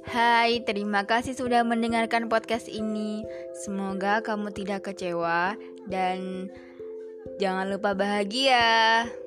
Hai, terima kasih sudah mendengarkan podcast ini. Semoga kamu tidak kecewa dan jangan lupa bahagia.